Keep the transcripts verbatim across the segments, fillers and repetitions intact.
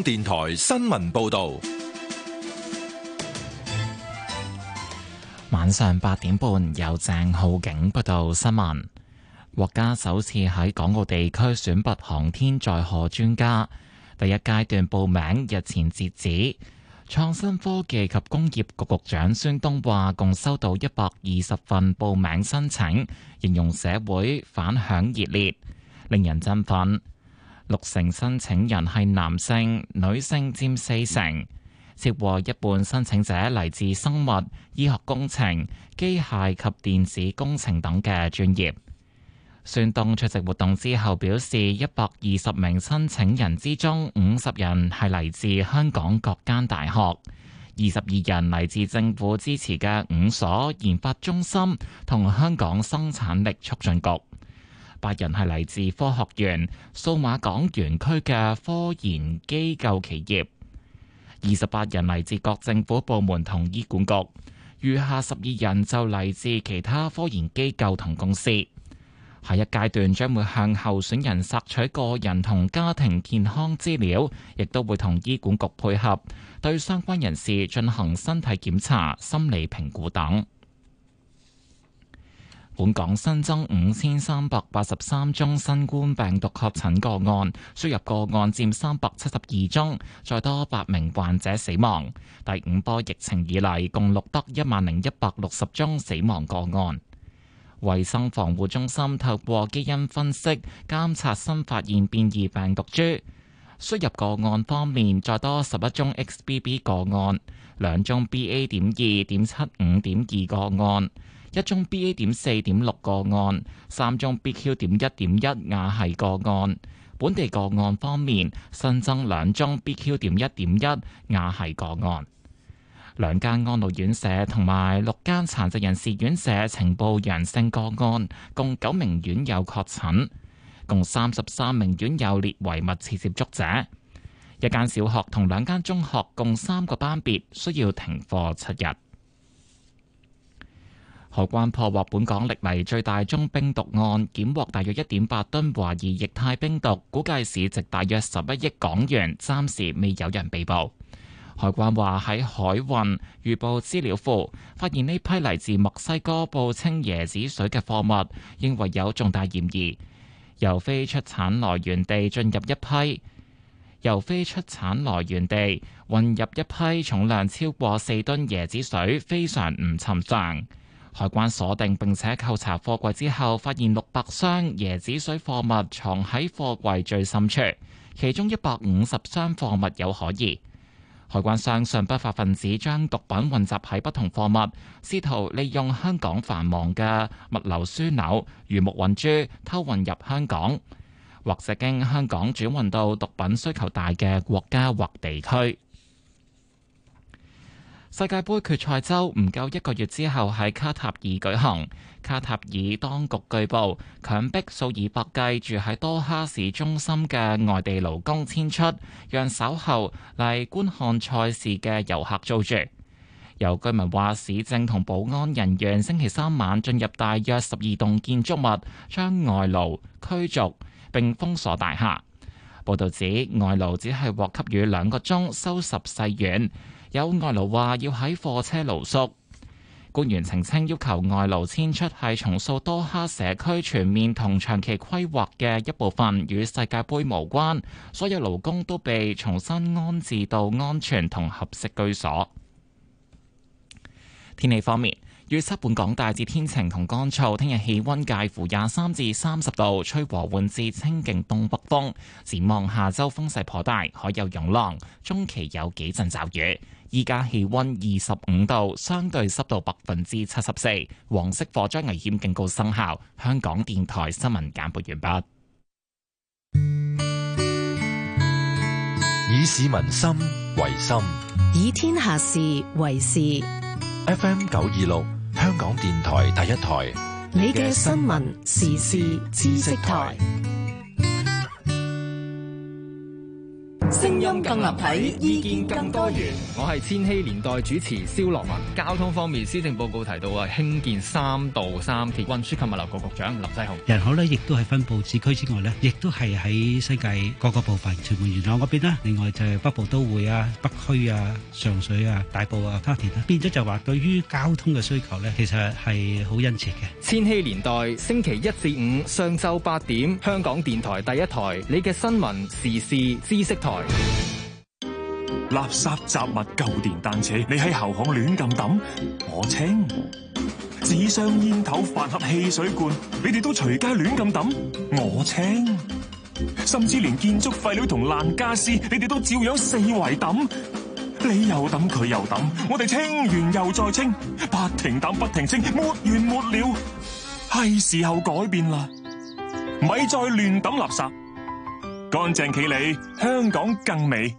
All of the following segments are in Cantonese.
電台新聞報道。 晚上八點半，由鄭浩景報道新聞。國家首次喺港澳地區選拔航天載荷專家，第一階段報名日前截止。創新科技及工業局局長孫東話，共收到一百二十份報名申請，形容社會反響熱烈，令人振奮。六成申請人係男性，女性佔四成。超過一半申請者嚟自生物、醫學工程、機械及電子工程等嘅專業。孫東出席活動之後表示，一百二十名申請人之中，五十人係嚟自香港各間大學，二十二人嚟自政府支持嘅五所研發中心同香港生產力促進局，八人係嚟自科學園、數碼港園區嘅科研機構企業。二十八人嚟自各政府部門同醫管局，餘下十二人就嚟自其他科研機構同公司。下一階段將會向候選人索取個人同家庭健康資料，亦都會同醫管局配合，對相關人士進行身體檢查、心理評估等。本港新增五千三百八十三宗新冠病毒確診個案，輸入個案佔三百七十二宗，再多八名患者死亡。第五波疫情以嚟，共錄得一萬零一百六十宗死亡個案。衛生防護中心透過基因分析監察新發現變異病毒株。輸入個案方面，再多十一宗 X B B 個案，兩宗 B A 點二點七五點二個案，一宗 B A 點四點六個案，三宗 B Q 點一點一亞系個案。本地個案方面，新增兩宗 B Q 點一點一亞系個案。兩間安老院舍同埋六間殘疾人士院舍呈報陽性個案，共九名院友確診，共三十三名院友列為密切接觸者。一間小學同兩間中學共三個班別需要停課七日。海關破獲本港歷嚟最大宗冰毒案，檢獲大約一點八噸懷疑液態冰毒，估計市值大約十一億港元，暫時未有人被捕。海關話喺海運預報資料庫發現呢批嚟自墨西哥報稱椰子水嘅貨物，認為有重大嫌疑，由非出產來源地進入一批，由非出產來源地運入一批重量超過四噸椰子水，非常唔尋常。海關鎖定並且扣查貨櫃之後，發現六百箱椰子水貨物藏喺貨櫃最深處，其中一百五十箱貨物有可疑。海關相信不法分子將毒品混雜喺不同貨物，試圖利用香港繁忙嘅物流樞紐魚目混珠偷運入香港，或者經香港轉運到毒品需求大嘅國家或地區。世界盃決賽周唔夠一個月之後喺卡塔爾舉行，卡塔爾當局據報強迫數以百計住喺多哈市中心嘅外地勞工遷出，讓稍後嚟觀看賽事嘅遊客租住。有居民話，市政同保安人員星期三晚進入大約十二棟建築物，將外勞驅逐並封鎖大廈。報導指外勞只係獲給予兩個鐘收拾細軟。有外勞話要喺貨車露宿，官員澄清要求外勞遷出係重塑多哈社區全面同長期規劃嘅一部分，與世界盃無關。所有勞工都被重新安置到安全同合適居所。天氣方面，預測本港大致天晴同乾燥，聽日氣溫介乎廿三至三十度，吹和緩至清勁東北風。展望下周風勢頗大，海有湧浪，中期有幾陣驟雨。依家氣溫二十五度，相對濕度百分之七十四，黃色火災危險警告生效。香港電台新聞簡報完畢。 以市民心為心， 以天下事為事。 F M 九二六，香港電台第一台， 你嘅新聞時事知識台。 聲音更立體，意見更多元。 我係千禧年代主持蕭樂文。交通方面，施政報告提到啊，興建三度三鐵。運輸及物流局局長林世雄。 人口咧，亦都係分佈市區之外咧，亦都係喺西界各個部分，屯門元朗嗰邊啦。另外就係北部都會啊、北區啊、上水啊、大埔啊、沙田啊，變咗就話對於交通嘅需求咧，其實係好殷切嘅。 千禧年代星期一至五上晝八點，香港電台第一台，你嘅新聞時事知識台。 垃圾雜物、舊電單車，你喺後巷亂咁抌，我清；紙箱、煙頭、飯盒、汽水罐，你哋都隨街亂咁抌，我清；甚至連建築廢料同爛家私，你哋都照樣四圍抌，你又抌佢又抌，我哋清完又再清，不停抌不停清，沒完沒了。係時候改變啦，咪再亂抌垃圾，乾淨企理，香港更美。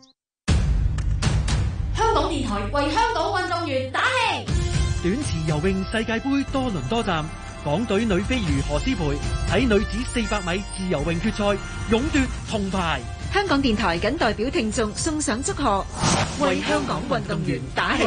香港電台為香港運動員打氣。 短池游泳世界盃多倫多站，港隊女飛魚何詩蓓喺女子四百米自由泳決賽勇奪銅牌。 香港電台謹代表聽眾送上祝賀，為香港運動員打氣。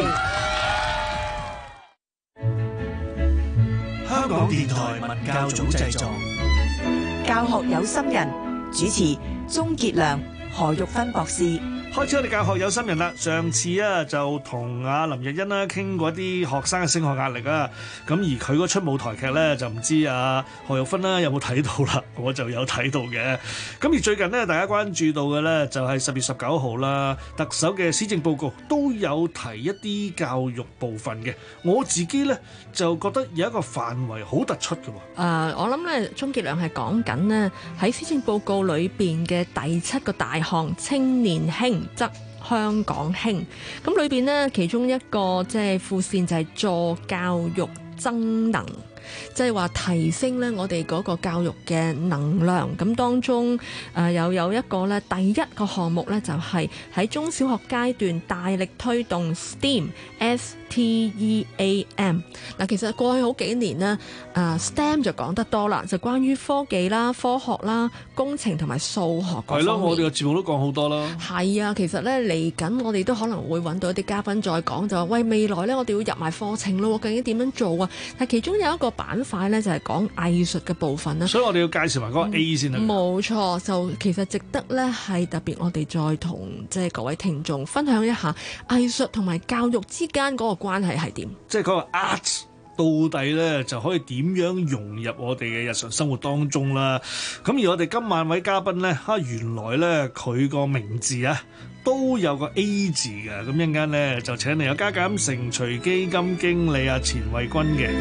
香港電台文教組製作， 教學有心人，主持鍾傑良、何玉芬博士。 開始我哋教學有心人啦。上次啊就同阿林日欣啦傾過啲學生嘅升學壓力啊，咁而佢嗰出舞台劇咧就唔知啊何玉芬啦有冇睇到啦？我就有睇到嘅。咁而最近呢，大家關注到嘅咧就係十月十九號啦，特首嘅施政報告都有提一啲教育部分嘅。我自己咧就覺得有一個範圍好突出嘅喎。誒、 呃，我諗咧鍾傑良係講緊呢喺施政報告裏邊嘅第七個大項青年興則香港興，咁裏邊呢，其中一個即係副線就係助教育增能，即係話提升咧我哋嗰個教育嘅能量。咁當中誒、呃、又有一個咧第一個項目咧就係、是、喺中小學階段大力推動 STEAM，S T E A M。嗱，其實過去好幾年呢，誒、呃、STEM 就講得多啦，就關於科技啦、科學啦、工程同埋數學嗰方面。 係咯，我哋嘅節目都講好多啦。 係啊，其實咧嚟緊我哋都可能會揾到一啲嘉賓再講，就話喂，未來咧我哋要入埋課程咯，究竟點樣做啊？但其中有一個板塊咧就係講藝術嘅部分啦。 所以我哋要介紹埋嗰個 A 先啦。 冇錯，就其實值得咧係特別我哋再同即係各位聽眾分享一下藝術同埋教育之間嗰個關係係點。 即係嗰個 art 到底咧就可以點樣融入我哋嘅日常生活當中啦？咁而我哋今晚位嘉賓咧，嚇原來咧佢個名字啊都有個 A 字嘅。咁一陣間咧就請嚟有加減乘隨基金經理啊錢慧君嘅。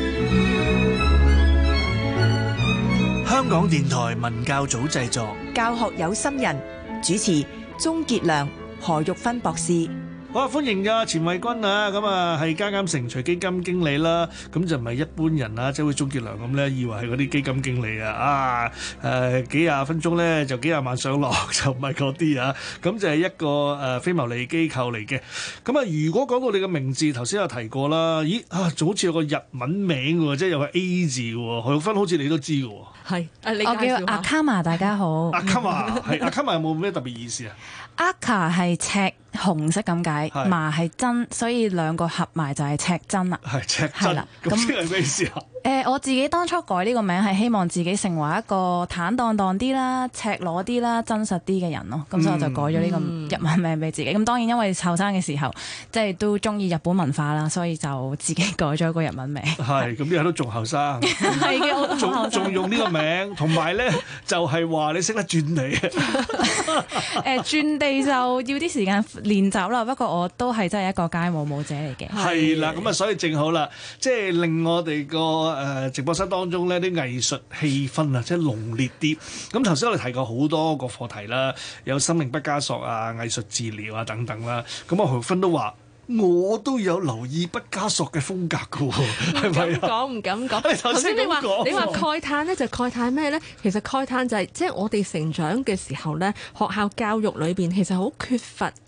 香港電台文教組製作， 教學有心人，主持鍾傑良、何玉芬博士。 好啊，歡迎㗎錢慧君啊，咁啊係加減乘隨基金經理啦，咁就唔係一般人啦，即係好似鍾傑良咁咧，以為係嗰啲基金經理啊，啊誒、呃、幾廿分鐘咧就幾廿萬上落，就唔係嗰啲啊，咁就係一個誒、呃、非牟利機構嚟嘅。咁啊，如果講到你嘅名字，頭先有提過啦，咦啊，仲好似有個日文名喎，即係有個 A 字喎，何玉芬好似你都知嘅喎。 係， 我叫阿卡瑪，大家好。 阿卡瑪係阿卡瑪有冇咩特別意思啊？ 阿卡係赤紅色咁解，瑪係真，所以兩個合埋就係赤真啦。 係赤真，咁即係咩意思啊？ 誒、呃，我自己當初改呢個名係希望自己成為一個坦蕩蕩啲啦、赤裸啲啦、真實啲嘅人咯。咁、嗯、所以我就改咗呢個日文名俾自己。咁、嗯、當然因為後生嘅時候，即係都中意日本文化啦，所以就自己改咗個日文名。 係，咁依家都仲後生。 係嘅，我都仲後生。 仲用呢個名，同埋咧就係、是、話你識得轉地。 誒、呃，轉地就要啲時間練習啦。不過我都係真係一個街舞舞者嚟嘅。 係啦，咁啊，所以正好啦，即係令我哋個誒直播室當中咧啲藝術氣氛啊，即係濃烈啲。咁頭先我哋提過好多個課題啦，有生命畢加索啊、藝術治療啊等等啦。咁啊，何芬都話。我都有留意畢加索嘅風格㗎喎，係咪啊？ 講唔敢講。頭先你話你話慨嘆咧，就慨嘆咩咧？其實慨嘆就係即係我哋成長嘅時候咧，學校教育裏邊其實好缺乏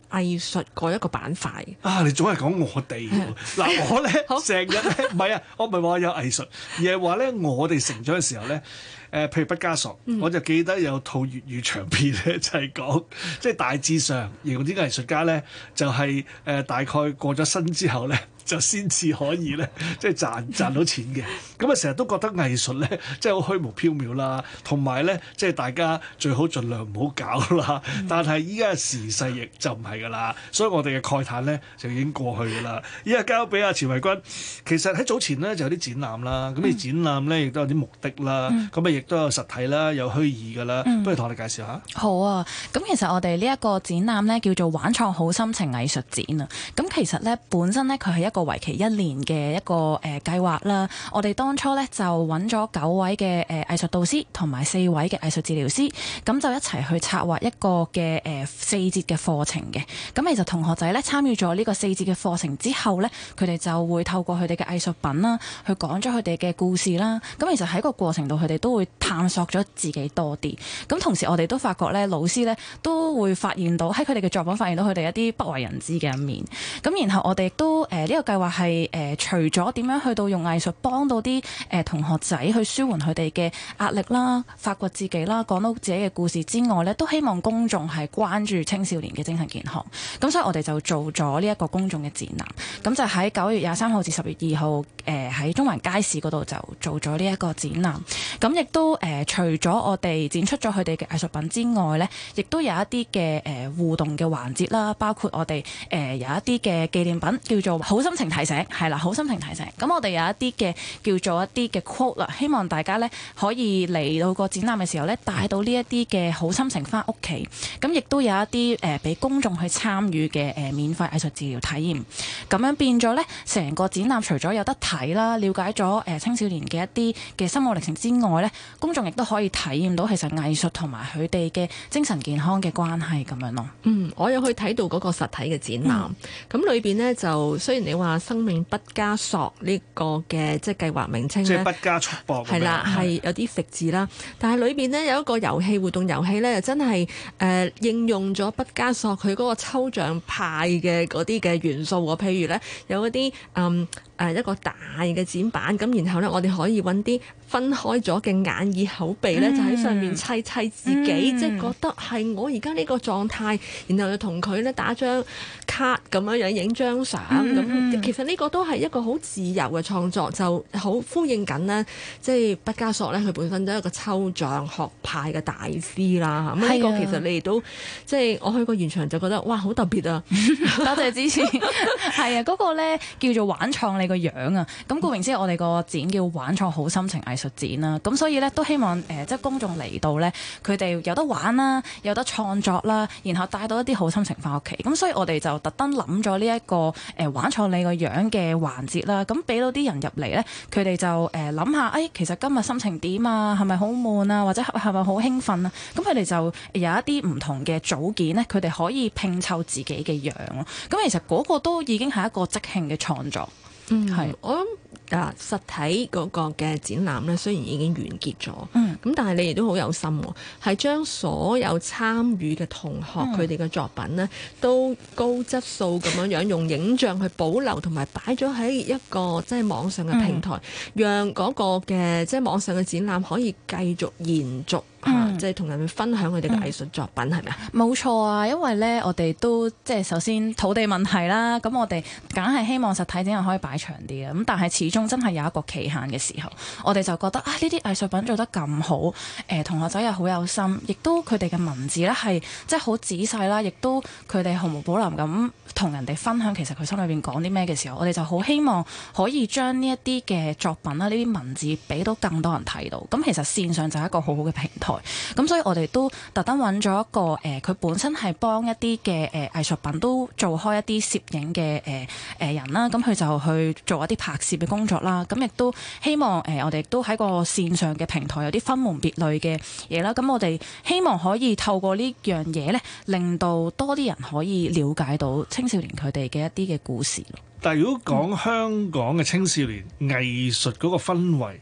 藝術嗰一個板塊。 啊！你總係講我哋喎，嗱我咧成日咧唔係啊，我唔係話有藝術，而係話咧我哋成長嘅時候咧。誒、呃，譬如畢加索，嗯、我就記得有套粵語長片咧，就係、是、講即係大致上形容啲藝術家咧，就係、是、誒、呃、大概過咗身之後咧，就先至可以咧，即係賺賺到錢嘅。咁啊，成日都覺得藝術咧，即係好虛無縹緲啦，同埋咧，即係大家最好盡量唔好搞啦。嗯、但係依家時勢亦就唔係㗎啦，所以我哋嘅慨嘆咧就已經過去㗎啦。依家交俾阿錢維君，其實喺早前咧就有啲展覽啦，咁啲、嗯、展覽咧亦都有啲目的啦，咁啊亦都有實體啦，有虛擬㗎啦，嗯、不如同我哋介紹下。 好啊，咁其實我哋呢一個展覽咧叫做玩創好心情藝術展啊。咁其實咧本身咧佢係一個為期一年嘅一個誒計劃啦。我哋當初咧就揾咗九位嘅誒藝術導師同埋四位嘅藝術治療師，咁就一齊去策劃一個嘅誒四節嘅課程嘅。咁其實同學仔咧參與咗呢個四節嘅課程之後咧，佢哋就會透過佢哋嘅藝術品啦，去講咗佢哋嘅故事啦。咁其實喺個過程度，佢哋都會探索咗自己多啲。咁同時我哋都發覺咧，老師咧都會發現到喺佢哋嘅作品發現到佢哋一啲不為人知嘅一面。咁然後我哋亦都誒呢個計劃係誒除咗點樣去到用藝術幫到啲誒、呃、同學仔去舒緩佢哋嘅壓力啦、發掘自己啦、講到自己嘅故事之外咧，都希望公眾係關注青少年嘅精神健康。咁所以我哋就做咗呢一個公眾嘅展覽，咁就喺九月廿三號至十月二號誒喺中環街市嗰度就做咗呢一個展覽。咁亦都誒、呃、除咗我哋展出咗佢哋嘅藝術品之外咧，亦都有一啲嘅誒互動嘅環節啦，包括我哋誒、呃、有一啲嘅紀念品叫做好心情提醒，係啦，好心情提醒。咁我哋有一啲嘅叫做一啲嘅 quote 啦，希望大家咧可以嚟到個展覽嘅時候咧，帶到呢一啲嘅好心情翻屋企。咁亦都有一啲誒俾公眾去參與嘅誒免費藝術治療體驗。咁樣變咗咧，成個展覽除咗有得睇啦，了解咗誒青少年嘅一啲嘅心路歷程之外咧，公眾亦都可以體驗到其實藝術同埋佢哋嘅精神健康嘅關係咁樣咯。 嗯，我有去睇到嗰個實體嘅展覽，咁裏邊呢，就雖然你話生命畢加索呢個嘅即係計劃名稱咧， 即係畢加束縛係啦，係有啲食字啦，但係裏邊呢，有一個遊戲活動遊戲咧，真係誒、呃、應用咗畢加索佢嗰個抽象派嘅嗰啲嘅元素喎，譬如咧有嗰啲嗯。誒一個大嘅展板，咁然後咧，我哋可以揾啲分開咗嘅眼耳口鼻咧，嗯、就喺上面砌砌自己，嗯、即係覺得係我而家呢個狀態，然後就同佢咧打張卡咁樣樣影張相，咁、嗯、其實呢個都係一個好自由嘅創作，就好呼應緊呢。即係畢加索咧，佢本身都係一個抽象學派嘅大師啦。咁呢、嗯、個其實你哋都即係我去過現場就覺得哇，好特別啊！ 多謝支持。係啊，嗰、那個咧叫做玩創你個樣啊，咁顧名思義，我哋個展叫玩創好心情藝術展啦。咁所以咧都希望誒、呃，即係公眾嚟到咧，佢哋有得玩啦，有得創作啦，然後帶到一啲好心情翻屋企。咁所以我哋就特登諗咗呢一個誒、呃、玩創你個樣嘅環節啦。咁俾到啲人入嚟咧，佢哋就誒諗下，誒、呃、其實今日心情點啊？係咪好悶啊？或者係咪好興奮啊？咁佢哋就有一啲唔同嘅組件咧，佢哋可以拼湊自己嘅樣咯。咁其實嗰個都已經係一個即興嘅創作。 嗯，係，我諗啊，實體嗰個嘅展覽咧，雖然已經完結咗，嗯，咁但係你哋都好有心喎，係將所有參與嘅同學佢哋嘅作品咧，都高質素咁樣樣用影像去保留同埋擺咗喺一個即係網上嘅平台，嗯、讓嗰個嘅即係網上嘅展覽可以繼續延續。嗯、即係同人哋分享佢哋嘅藝術作品係咪啊？ 冇錯啊，因為咧我哋都即係首先土地問題啦，咁我哋梗係希望實體展覽可以擺長啲嘅，咁但係始終真係有一個期限嘅時候，我哋就覺得啊呢啲藝術品做得咁好，誒、呃、同學仔又好有心，亦都佢哋嘅文字咧係即係好仔細啦，亦都佢哋毫無保留咁同人哋分享其實佢心裏邊講啲咩嘅時候，我哋就好希望可以將呢一啲嘅作品啦，呢啲文字俾到更多人睇到。咁其實線上就係一個好好嘅平台。咁所以我哋都特登揾咗一個誒，佢、呃、本身係幫一啲嘅誒藝術品都做開一啲攝影嘅誒誒人啦，咁佢就去做一啲拍攝嘅工作啦。咁亦都希望誒、呃，我哋都喺個線上嘅平台有啲分門別類嘅嘢啦。咁我哋希望可以透過呢樣嘢咧，令到多啲人可以了解到青少年佢哋嘅一啲嘅故事咯。 但係如果講香港嘅青少年藝術嗰個氛圍，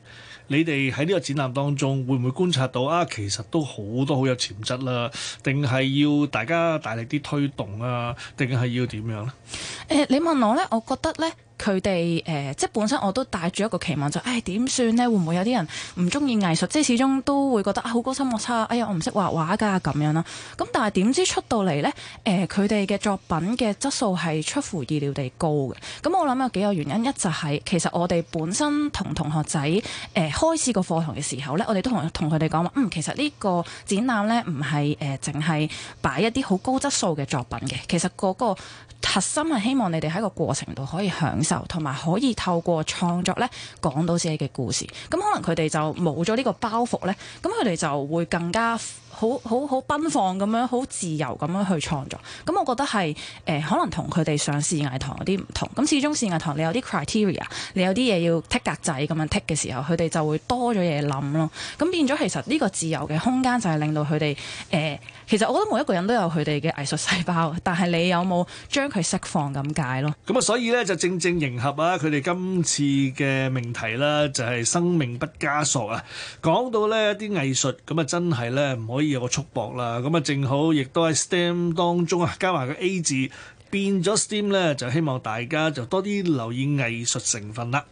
你哋喺呢個展覽當中會唔會觀察到啊？其實都好多好有潛質啦，定係要大家大力啲推動啊？定係要點樣呢？ 誒、呃，你問我咧，我覺得咧。佢哋誒，即係本身我都帶住一個期望，就誒點算呢？會唔會有啲人唔中意藝術？即係始終都會覺得啊，好高深莫測，哎呀，我唔識畫畫㗎咁樣啦。咁但係點知出到嚟呢？誒佢哋嘅作品嘅質素係出乎意料地高嘅。咁我諗有幾個原因，一就係、是、其實我哋本身同同學仔誒、呃、開始個課堂嘅時候呢，我哋都同同佢哋講話，嗯，其實呢個展覽呢，唔係誒淨係擺一啲好高質素嘅作品嘅，其實嗰個核心係希望你哋喺個過程度可以享受，同埋可以透過創作咧講到自己嘅故事。咁可能佢哋就冇咗呢個包袱咧，咁佢哋就會更加好好好奔放咁樣，好自由咁樣去創作。咁我覺得係誒、呃、可能同佢哋上視藝堂有啲唔同。咁始終視藝堂你有啲 criteria， 你有啲嘢要剔格仔咁樣剔嘅時候，佢哋就會多咗嘢諗咯。咁變咗其實呢個自由嘅空間就係令到佢哋誒，其實我覺得每一個人都有佢哋嘅藝術細胞，但係你有冇將佢釋放咁解咯？ 咁啊，所以咧就正正迎合啊佢哋今次嘅命題啦，就係生命不加索啊。講到呢一啲藝術咁啊，真係咧唔可以有個束縛啦。咁啊，正好亦都喺 S T E M 當中啊，加埋個 A 字變咗 S T E M 咧，就希望大家就多啲留意藝術成分啦。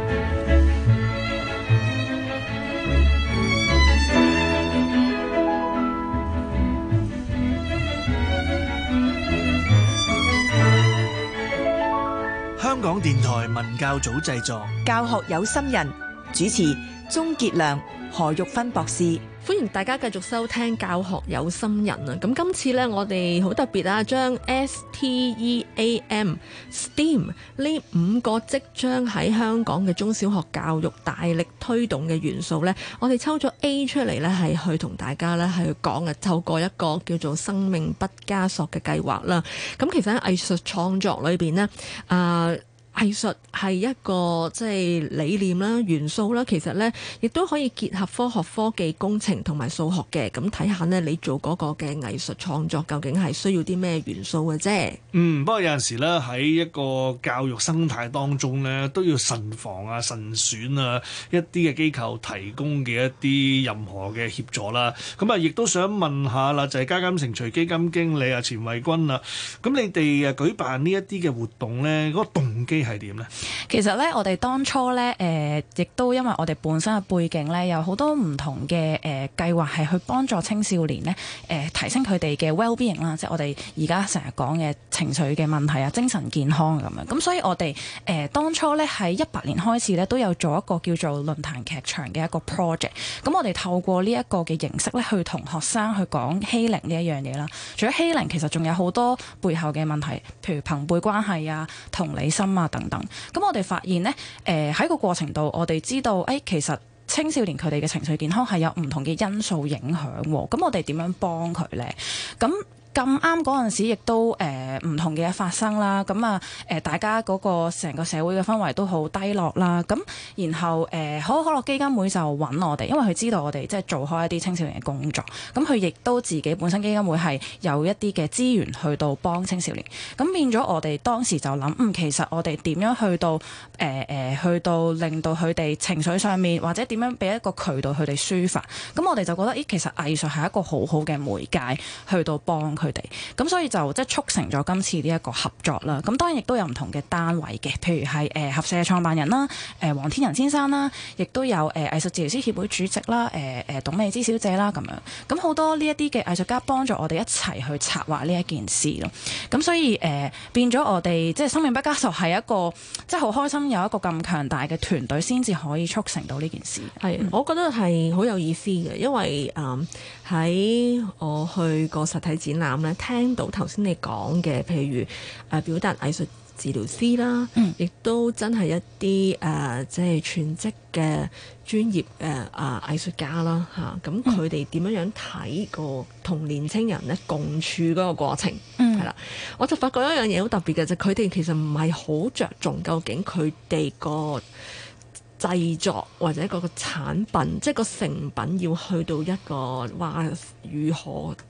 香港電台文教組製作， 教學有心人，主持鍾傑良、何玉芬博士。 歡迎大家繼續收聽教學有心人啊！咁今次呢，我哋好特別啊，將 S T E A M STEAM 呢五個即將喺香港嘅中小學教育大力推動嘅元素呢，我哋抽咗 A 出嚟呢，係去同大家呢去講啊，透過一個叫做生命不加索嘅計劃啦。咁其實喺藝術創作裏邊呢，啊、呃。藝術係一個即係理念啦、元素啦，其實呢亦都可以結合科學、科技、工程同埋數學嘅。咁睇下呢，你做嗰個嘅藝術創作究竟係需要啲咩元素嘅啫？嗯， 不過有陣時呢，喺一個教育生態當中呢，都要慎防啊、慎選啊一啲嘅機構提供嘅一啲任何嘅協助啦。咁啊，亦都想問下啦，就係加減乘除基金經理啊錢慧君啊，咁你哋誒舉辦呢一啲嘅活動呢，嗰個動機係點呢？ 其實咧，我哋當初咧，誒、呃，亦都因為我哋本身嘅背景咧，有好多唔同嘅誒計劃係去幫助青少年咧，誒、呃，提升佢哋嘅 well-being 啦，即係我哋而家成日講嘅情緒嘅問題啊、精神健康咁樣。咁所以我哋誒、呃、當初咧喺一八年開始咧，都有做一個叫做論壇劇場嘅一個 project。咁我哋透過呢一個嘅形式咧，去同學生去講欺凌呢一樣嘢啦。除咗欺凌，其實仲有好多背後嘅問題，譬如朋輩關係啊、同理心啊等等。咁我哋發現呢，誒、呃、喺個過程度，我哋知道，誒、哎、其實青少年佢哋嘅情緒健康係有唔同嘅因素影響喎。咁我哋點樣幫佢呢？咁咁啱嗰陣時，亦都誒唔同嘅嘢發生啦。咁啊誒，大家嗰個成個社會嘅氛圍都好低落啦。咁然後誒，可口可樂基金會就揾我哋，因為佢知道我哋即係做開一啲青少年嘅工作。咁佢亦都自己本身基金會係有一啲嘅資源去到幫青少年。咁變咗我哋當時就諗，嗯，其實我哋點樣去到誒誒、呃，去到令到佢哋情緒上面，或者點樣俾一個渠道佢哋抒發。咁我哋就覺得，咦，其實藝術係一個好好嘅媒介，去到幫佢哋，咁所以就即係促成咗今次呢一個合作啦。咁當然亦都有唔同嘅單位嘅，譬如係誒合社嘅創辦人啦，誒黃天仁先生啦，亦都有誒藝術治療師協會主席啦，誒誒董美芝小姐啦咁樣。咁好多呢一啲嘅藝術家幫助我哋一齊去策劃呢一件事咯。咁所以誒、呃、變咗我哋即係生命不加索係一個即係好開心有一個咁強大嘅團隊先至可以促成到呢件事。係、嗯， 我覺得係好有意思嘅，因為誒喺、呃、我去個實體展覽咧，聽到頭先你講嘅，譬如誒、呃、表達藝術治療師啦，亦、嗯、都真係一啲誒即係全職嘅專業誒啊藝術家啦嚇，咁佢哋點樣樣睇個同年青人咧共處嗰個過程，係、嗯、啦，我就發覺一樣嘢好特別嘅，就佢、是、哋其實唔係好着重究竟佢哋個製作或者嗰個產品，即係個成品要去到一個話如何的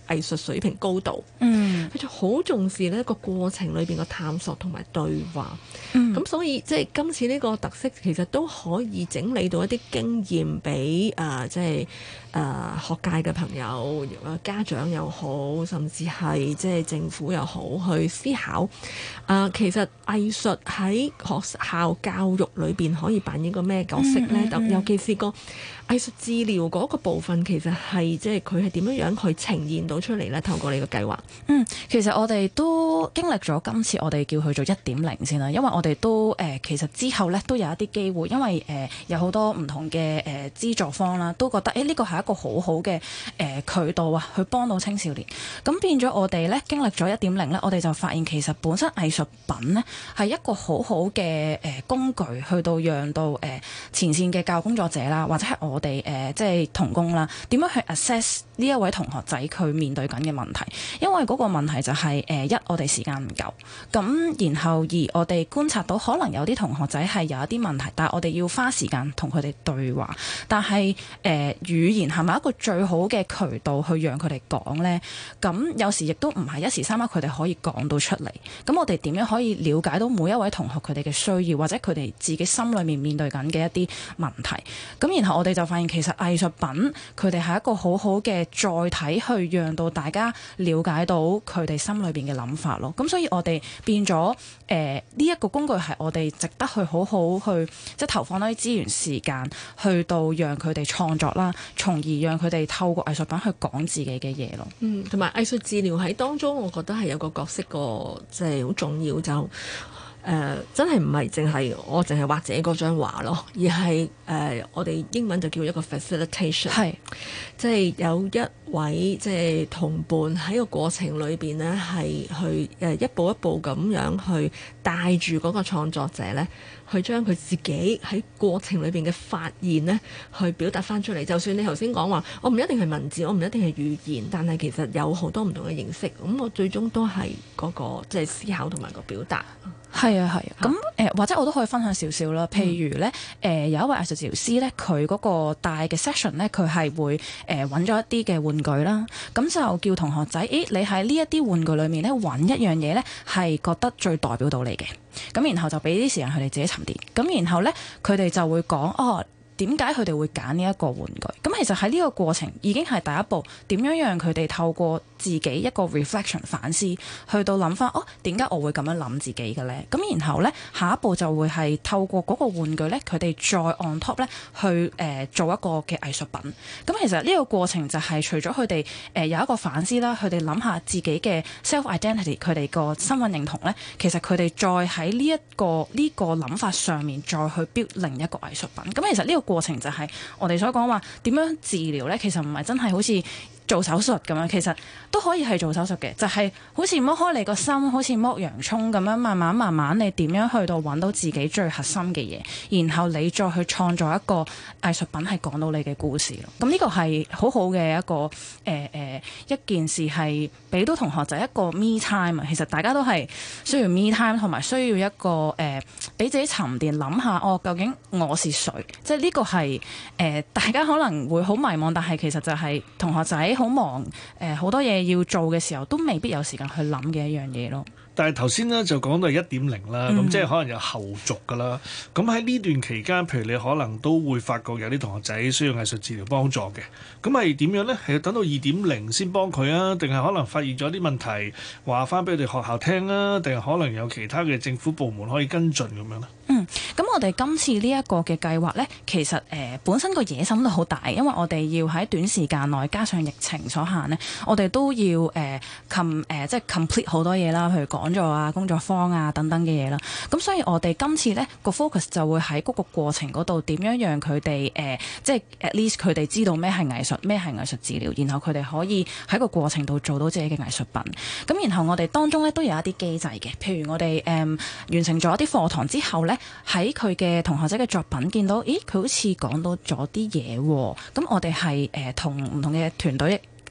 藝術水平高度， 嗯， 佢就好重視呢個過程裏邊嘅探索同埋對話。咁、 嗯、 所以即係今次呢個特色，其實都可以整理到一啲經驗俾誒、呃、即係誒、呃、學界嘅朋友、誒家長又好，甚至係即係政府又好去思考。誒、呃、其實藝術喺學校教育裏邊可以扮演個咩角色呢？嗯嗯嗯、尤其是個藝術治療嗰個部分，其實係即係佢係點樣樣去呈現到出嚟呢？透過你個計劃， 嗯，其實我哋都經歷咗今次，我哋叫佢做一點零先啦，因為我哋都誒、呃、其實之後咧都有一啲機會，因為誒、呃、有好多唔同嘅誒資助方啦，都覺得誒呢個係一個好好嘅誒渠道啊，去幫到青少年。咁變咗我哋咧經歷咗一點零咧，我哋就發現其實本身藝術品咧係一個好好嘅誒工具，去到讓到誒、呃、前線嘅教育工作者啦，或者係我哋誒、呃、即係同工啦，點樣去 assess 呢一位同學仔佢面對緊嘅問題。因為嗰個問題就係、是、誒、呃、一我哋時間唔夠，咁然後二我哋觀察到可能有啲同學仔係有一啲問題，但係我哋要花時間同佢哋對話。但係誒、呃、語言係咪一個最好嘅渠道去讓佢哋講呢？咁有時亦都唔係一時三刻佢哋可以講到出嚟。咁我哋點樣可以了解到每一位同學佢哋嘅需要，或者佢哋自己心裏面面對緊嘅一啲問題？咁然後我哋就發現其實藝術品佢哋係一個好好嘅載體，去讓到大家了解到佢哋心裏邊嘅諗法咯。咁所以我哋變咗誒呢一個工具係我哋值得去好好去即係投放多啲資源時間，去到讓佢哋創作啦，從而讓佢哋透過藝術品去講自己嘅嘢咯。 嗯，同埋藝術治療喺當中，我覺得係有個角色個即係好重要就。誒、呃、真係唔係淨係我淨係畫自己嗰張畫咯，而係誒、呃、我哋英文就叫一個 facilitation，係即係有一位即係同伴喺個過程裏邊呢，係去誒一步一步咁樣去帶住嗰個創作者呢，去將佢自己喺過程裏邊嘅發現呢，去表達翻出嚟。就算你頭先講話，我唔一定係文字，我唔一定係語言，但係其實有好多唔同嘅形式。咁我最終都係嗰、那個即係思考同埋個表達。 係啊，係啊，咁誒、呃、或者我都可以分享少少啦。譬如咧，誒、呃、有一位藝術治療師咧，佢嗰個大嘅 session 咧，佢係會誒揾咗一啲嘅玩具啦，咁就叫同學仔，誒你喺呢一啲玩具裏面咧揾一樣嘢咧，係覺得最代表到你嘅，咁然後就俾啲時間佢哋自己沉澱，咁然後咧佢哋就會講哦。點解佢哋會揀呢一個玩具？咁其實喺呢個過程已經係第一步，點樣讓佢哋透過自己一個 reflection 反思，去到諗翻哦，點解我會咁樣諗自己嘅咧？咁然後咧下一步就會係透過嗰個玩具咧，佢哋再 on top 咧去誒、呃、做一個嘅藝術品。咁其實呢個過程就係除咗佢哋誒有一個反思啦，佢哋諗下自己嘅 self identity，佢哋個身份認同咧，其實佢哋再喺呢一個呢、這個諗法上面再去 build 另一個藝術品。咁其實呢、這個過程就係我哋所講話點樣治療呢？其實唔係真係好似做手術咁樣，其實都可以係做手術嘅，就係、是、好似剝開你個心，好似剝洋葱咁樣，慢慢慢慢你點樣去到揾到自己最核心嘅嘢，然後你再去創造一個藝術品係講到你嘅故事咯。咁呢個係好好嘅一個誒誒、呃呃、一件事，係俾到同學仔一個 me time 啊。其實大家都係需要 me time，同埋需要一個誒俾、呃、自己沉澱諗下，哦究竟我是誰？即係呢個係誒、呃、大家可能會好迷茫，但係其實就係同學仔好忙，誒好多嘢要做嘅時候，都未必有時間去諗嘅一樣嘢咯。 但係頭先咧就講到係一點零啦，咁、嗯、即係可能有後續噶啦。咁喺呢段期間，譬如你可能都會發覺有啲同學仔需要藝術治療幫助嘅，咁係點樣呢？係要等到二點零先幫佢啊？定係可能發現咗啲問題，話翻俾佢哋學校聽啊？定係可能有其他嘅政府部門可以跟進咁樣呢？ 嗯，咁我哋今次呢一個嘅計劃呢，其實誒、呃、本身個野心都好大，因為我哋要喺短時間內加上疫情所限呢，我哋都要誒 com 誒即係 complete 好多嘢啦，譬如講座啊、工作坊啊等等嘅嘢啦。咁所以我哋今次呢個 focus 就會喺嗰個過程嗰度，點樣讓佢哋誒即係 at least 佢哋知道咩係藝術，咩係藝術治療，然後佢哋可以喺個過程度做到自己嘅藝術品。咁然後我哋當中呢都有一啲機制嘅，譬如我哋誒、呃、完成咗一啲課堂之後呢，喺佢嘅同學仔嘅作品見到，咦佢好似講到咗啲嘢喎。咁我哋係誒同唔同嘅團隊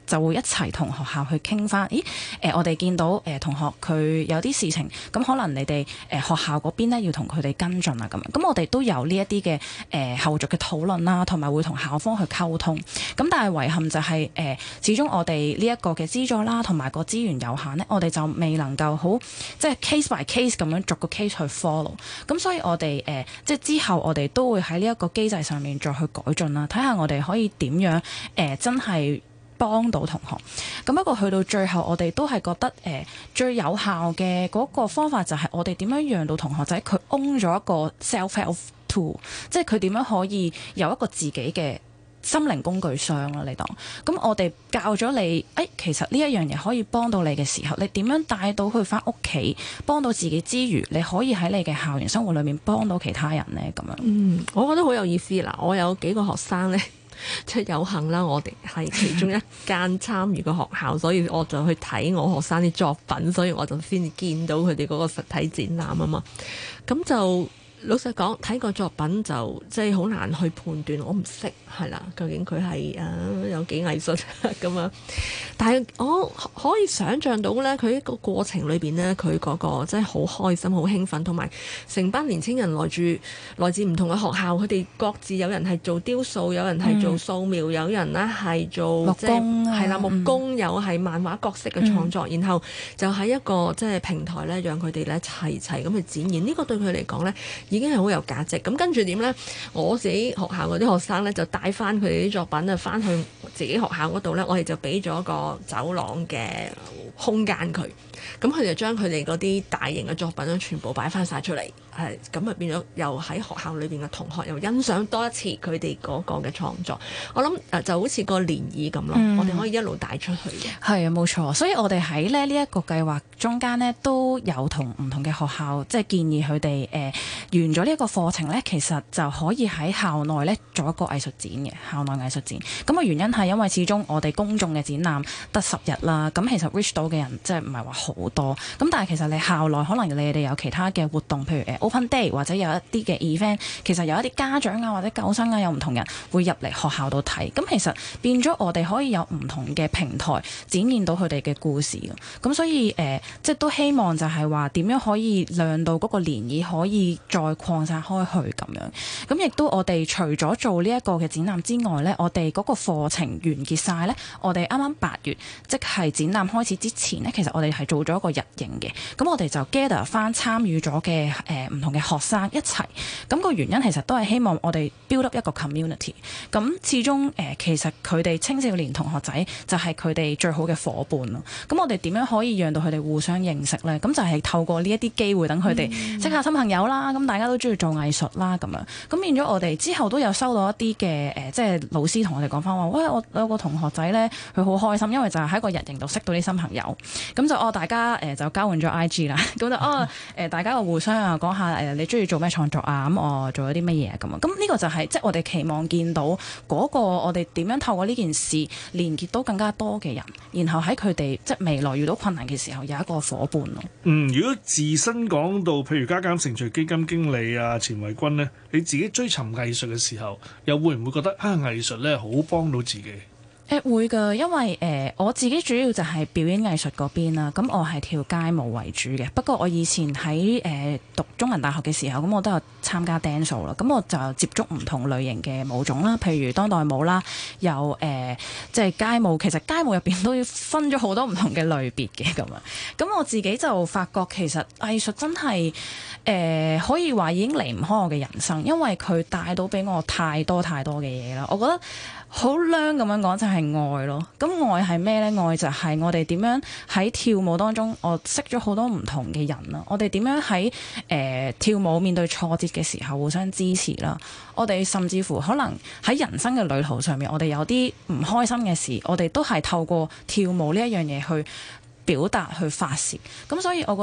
就會一齊同學校去傾翻，咦誒、呃、我哋見到誒、呃、同學佢有啲事情，咁可能你哋誒、呃、學校嗰邊咧要同佢哋跟進啊咁樣，咁我哋都有呢一啲嘅誒後續嘅討論啦，同埋會同校方去溝通。咁但係遺憾就係、是、誒、呃、始終我哋呢一個嘅資助啦，同埋個資源有限咧，我哋就未能夠好即係 case by case 咁樣逐個 case 去 follow。咁所以我哋誒、呃、即係之後我哋都會喺呢一個機制上面再去改進啦，睇下我哋可以點樣誒、呃、真係幫到同學。咁不過去到最後，我哋都係覺得誒、呃、最有效嘅嗰個方法就係我哋點樣讓到同學仔佢 own 咗一個 self-help tool， 即係佢點樣可以有一個自己嘅心靈工具箱啦，你當咁我哋教咗你，誒、哎、其實呢一樣嘢可以幫到你嘅時候，你點樣帶到佢返屋企，幫到自己之餘，你可以喺你嘅校園生活裏面幫到其他人呢？咁樣。 嗯，我覺得好有意思啦！我有幾個學生呢，即係有幸啦，我哋係其中一間參與嘅學校，所以我就去睇我學生啲作品，所以我就先至見到佢哋嗰個實體展覽啊嘛，咁就。老實講，睇個作品就即係好難去判斷，我唔識係啦，究竟佢係啊有幾藝術咁樣。但係我可以想像到咧，佢一個過程裏邊咧，佢嗰個真係好開心、好興奮，同埋成班年青人來住來自唔同嘅學校，佢哋各自有人係做雕塑，有人係做素描，嗯、有人咧係做木工，係啦木工，有係漫畫角色嘅創作，嗯、然後就喺一個即係平台咧，讓佢哋咧齊齊咁去展現。呢、這個對佢嚟講咧，已經係好有價值。咁跟住點呢？我自己學校嗰啲學生呢，就帶翻佢哋啲作品啊，翻去自己學校嗰度呢，我哋就俾咗個走廊嘅空間佢。咁佢就將佢哋嗰啲大型嘅作品咧，全部擺翻晒出嚟。係咁啊，變咗又喺學校裏邊嘅同學又欣賞多一次佢哋嗰個嘅創作。我諗誒就好似個漣漪咁咯，嗯、我哋可以一路帶出去嘅。係啊， 冇錯。所以我哋喺咧呢一個計劃中間呢，都有同唔同嘅學校即係建議佢哋誒完咗呢一個課程呢，其實就可以喺校內呢做一個藝術展嘅校內藝術展。咁嘅原因係因為始終我哋公眾嘅展覽得十日啦，咁其實 reach 到嘅人即係唔係話好多。咁但係其實你校內可能你哋有其他嘅活動，譬如誒 Open Day 或者有一啲嘅 event， 其實有一啲家長啊或者舊生啊有唔同人會入嚟學校度睇，咁其實變咗我哋可以有唔同嘅平台展現到佢哋嘅故事。咁所以誒、呃，即係都希望就係話點樣可以讓到嗰個漣漪可以再擴散開去咁樣。咁亦都我哋除咗做呢一個嘅展覽之外呢，我哋嗰個課程完結晒呢，我哋啱啱八月即係展覽開始之前呢，其實我哋係做咗一個日營嘅。咁我哋就 gather 翻參與咗嘅誒唔同嘅學生一齊，咁個原因其實都係希望我哋 build up 一個 community。咁始終誒、呃、其實佢哋青少年同學仔就係佢哋最好嘅夥伴咯。咁我哋點樣可以讓到佢哋互相認識呢？咁就係透過呢一啲機會，等佢哋識下新朋友啦。咁大家都中意做藝術啦，咁樣咁變咗我哋之後都有收到一啲嘅誒，即係老師同我哋講翻話，喂，我有個同學仔呢，佢好開心，因為就係喺個日營度識到啲新朋友。咁就哦，大家誒、呃、就交換咗 I G 啦。咁就哦誒、呃，大家個互相啊講下誒，你中意做咩創作啊？咁我做咗啲乜嘢咁啊？咁呢個就係、是、即係我哋期望見到嗰個我哋點樣透過呢件事連結到更加多嘅人，然後喺佢哋即係未來遇到困難嘅時候有一個夥伴咯。 嗯，如果自身講到譬如加減乘除基金經理啊錢慧君呢，你自己追尋藝術嘅時候，又會唔會覺得啊藝術咧好幫到自己？ 誒會㗎，因為誒、呃、我自己主要就係表演藝術嗰邊啦，咁我係跳街舞為主嘅。不過我以前喺誒、呃、讀中文大學嘅時候，咁我都有參加 dance 啦，咁我就接觸唔同類型嘅舞種啦，譬如當代舞啦，有誒即係街舞。其實街舞入邊都要分咗好多唔同嘅類別嘅咁啊。咁我自己就發覺其實藝術真係誒、呃、可以話已經離唔開我嘅人生，因為佢帶到俾我太多太多嘅嘢啦。我覺得好靚咁樣講就係愛咯，咁愛係咩呢？愛就係我哋點樣喺跳舞當中，我識咗好多唔同嘅人啦。我哋點樣喺誒、呃、跳舞面對挫折嘅時候互相支持啦。我哋甚至乎可能喺人生嘅旅途上面，我哋有啲唔開心嘅事，我哋都係透過跳舞呢一樣嘢去表達去發泄。咁所以我覺得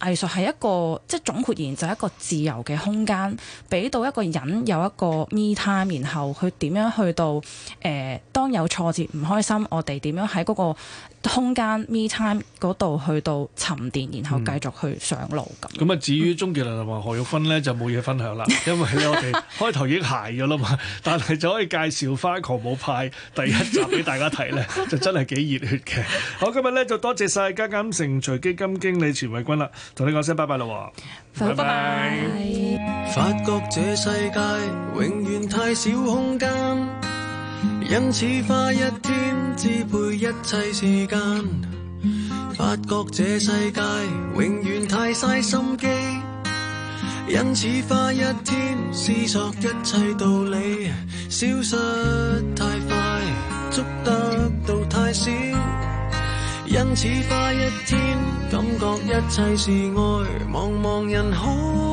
藝術係一個即係總括而言就係一個自由嘅空間，俾到一個人有一個 me time，然後佢點樣去到誒、呃、當有挫折唔開心，我哋點樣喺嗰個空間 me time 嗰度去到沉澱，然後繼續去上路咁。咁啊、 嗯，至於鍾傑良同埋何玉芬咧就冇嘢分享啦，因為咧我哋開頭已經鞋咗啦嘛，但係就可以介紹翻《狂舞派》第一集俾大家睇咧，就真係幾熱血嘅。好，今日咧就多謝晒嘉鑑城徐基金經理錢慧君啦，同你講聲拜拜啦喎，拜拜。 發覺這世界永遠太少空間，因此花一天支配一切時間。發覺這世界永遠太嘥心機，因此花一天思索一切道理。消失太快，捉得到太少，因此花一天感覺一切是愛。茫茫人海，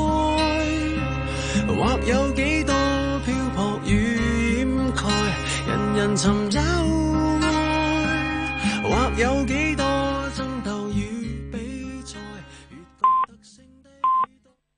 或有幾多漂泊與掩蓋，人人尋找愛，或有幾